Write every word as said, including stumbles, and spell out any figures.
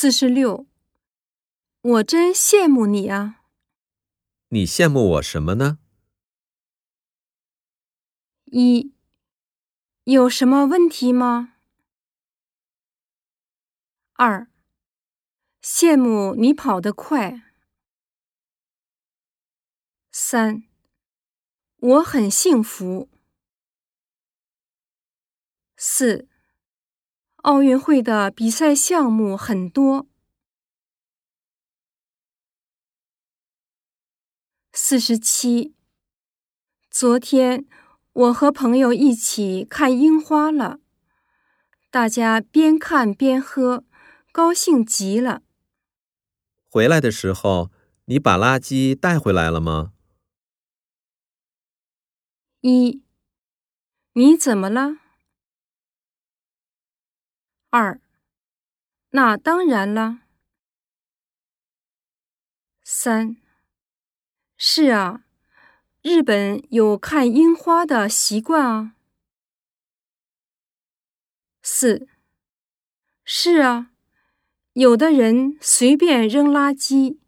四十六，我真羡慕你啊！ 你羡慕我什么呢？ 一，有什么问题吗？二，羡慕你跑得快。三，我很幸福。四，奥运会的比赛项目很多。四十七，昨天我和朋友一起看樱花了，大家边看边喝，高兴极了。 回来的时候，你把垃圾带回来了吗？ 一，你怎么了？二，那当然了。三，是啊，日本有看樱花的习惯啊。四，是啊，有的人随便扔垃圾，